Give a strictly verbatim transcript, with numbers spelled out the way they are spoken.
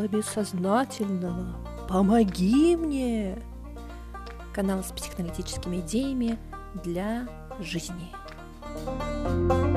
бессознательного. Помоги мне! Канал с психоаналитическими идеями для жизни.